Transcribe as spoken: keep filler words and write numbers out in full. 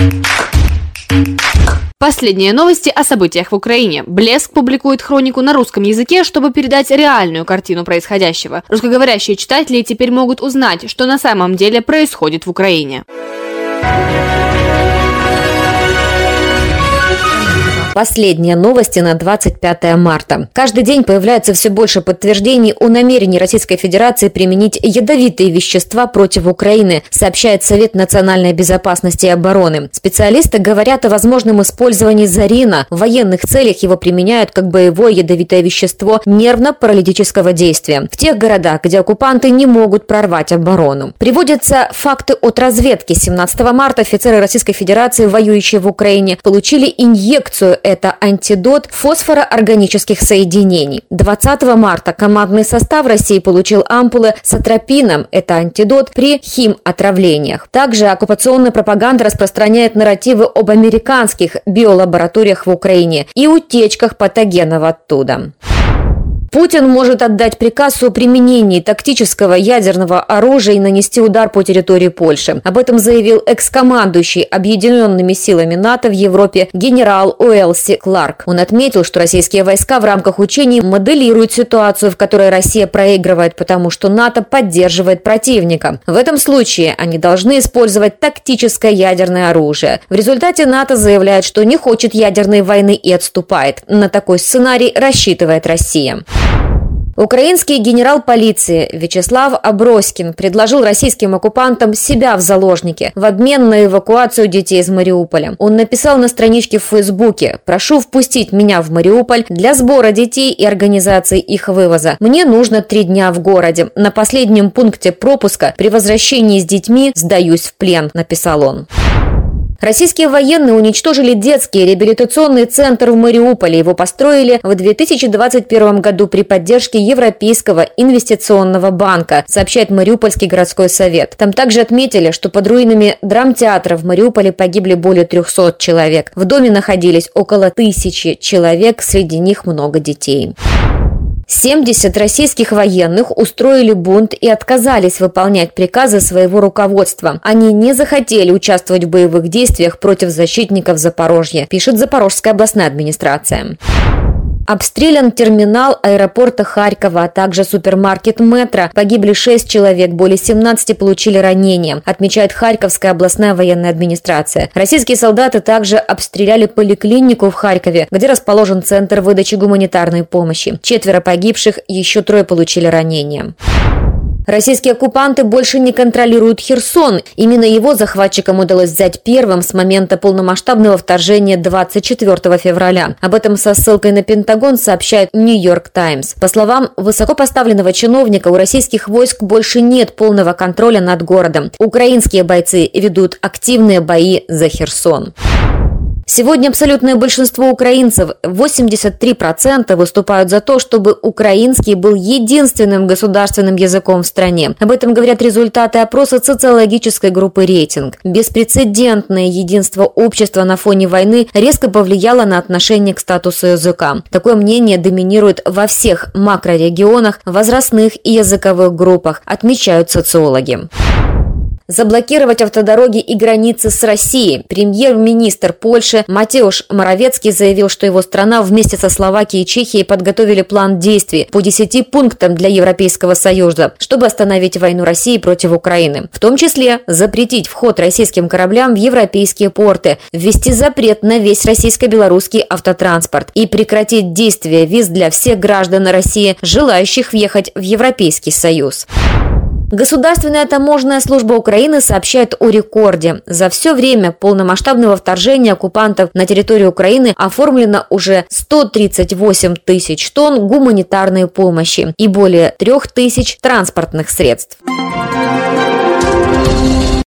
Последние новости о событиях в Украине. Блеск публикует хронику на русском языке, чтобы передать реальную картину происходящего. Русскоговорящие читатели теперь могут узнать, что на самом деле происходит в Украине. Последние новости на двадцать пятое марта. Каждый день появляется все больше подтверждений о намерении Российской Федерации применить ядовитые вещества против Украины, сообщает Совет национальной безопасности и обороны. Специалисты говорят о возможном использовании зарина. В военных целях его применяют как боевое ядовитое вещество нервно-паралитического действия в тех городах, где оккупанты не могут прорвать оборону. Приводятся факты от разведки. семнадцатого марта офицеры Российской Федерации, воюющие в Украине, получили инъекцию. Это антидот фосфороорганических соединений. двадцатого марта командный состав России получил ампулы с атропином. Это антидот при химотравлениях. Также оккупационная пропаганда распространяет нарративы об американских биолабораториях в Украине и утечках патогенов оттуда. Путин может отдать приказ о применении тактического ядерного оружия и нанести удар по территории Польши. Об этом заявил экс-командующий Объединенными силами НАТО в Европе генерал Уэлси Кларк. Он отметил, что российские войска в рамках учений моделируют ситуацию, в которой Россия проигрывает, потому что НАТО поддерживает противника. В этом случае они должны использовать тактическое ядерное оружие. В результате НАТО заявляет, что не хочет ядерной войны и отступает. На такой сценарий рассчитывает Россия. Украинский генерал полиции Вячеслав Аброськин предложил российским оккупантам себя в заложники в обмен на эвакуацию детей из Мариуполя. Он написал на страничке в Фейсбуке: «Прошу впустить меня в Мариуполь для сбора детей и организации их вывоза. Мне нужно три дня в городе. На последнем пункте пропуска при возвращении с детьми сдаюсь в плен», – написал он. Российские военные уничтожили детский реабилитационный центр в Мариуполе. Его построили в две тысячи двадцать первом году при поддержке Европейского инвестиционного банка, сообщает Мариупольский городской совет. Там также отметили, что под руинами драмтеатра в Мариуполе погибли более трехсот человек. В доме находились около тысячи человек, среди них много детей. семьдесят российских военных устроили бунт и отказались выполнять приказы своего руководства. Они не захотели участвовать в боевых действиях против защитников Запорожья, пишет Запорожская областная администрация. Обстрелян терминал аэропорта Харькова, а также супермаркет «Метро». Погибли шесть человек, более семнадцати получили ранения, отмечает Харьковская областная военная администрация. Российские солдаты также обстреляли поликлинику в Харькове, где расположен центр выдачи гуманитарной помощи. Четверо погибших, еще трое получили ранения. Российские оккупанты больше не контролируют Херсон. Именно его захватчикам удалось взять первым с момента полномасштабного вторжения двадцать четвёртого февраля. Об этом со ссылкой на Пентагон сообщает Нью-Йорк Таймс. По словам высокопоставленного чиновника, у российских войск больше нет полного контроля над городом. Украинские бойцы ведут активные бои за Херсон. Сегодня абсолютное большинство украинцев, восемьдесят три процента, выступают за то, чтобы украинский был единственным государственным языком в стране. Об этом говорят результаты опроса социологической группы «Рейтинг». Беспрецедентное единство общества на фоне войны резко повлияло на отношение к статусу языка. Такое мнение доминирует во всех макрорегионах, возрастных и языковых группах, отмечают социологи. Заблокировать автодороги и границы с Россией. Премьер-министр Польши Матеуш Моровецкий заявил, что его страна вместе со Словакией и Чехией подготовили план действий по десяти пунктам для Европейского Союза, чтобы остановить войну России против Украины. В том числе запретить вход российским кораблям в европейские порты, ввести запрет на весь российско-белорусский автотранспорт и прекратить действие виз для всех граждан России, желающих въехать в Европейский Союз. Государственная таможенная служба Украины сообщает о рекорде. За все время полномасштабного вторжения оккупантов на территорию Украины оформлено уже сто тридцать восемь тысяч тонн гуманитарной помощи и более трех тысяч транспортных средств.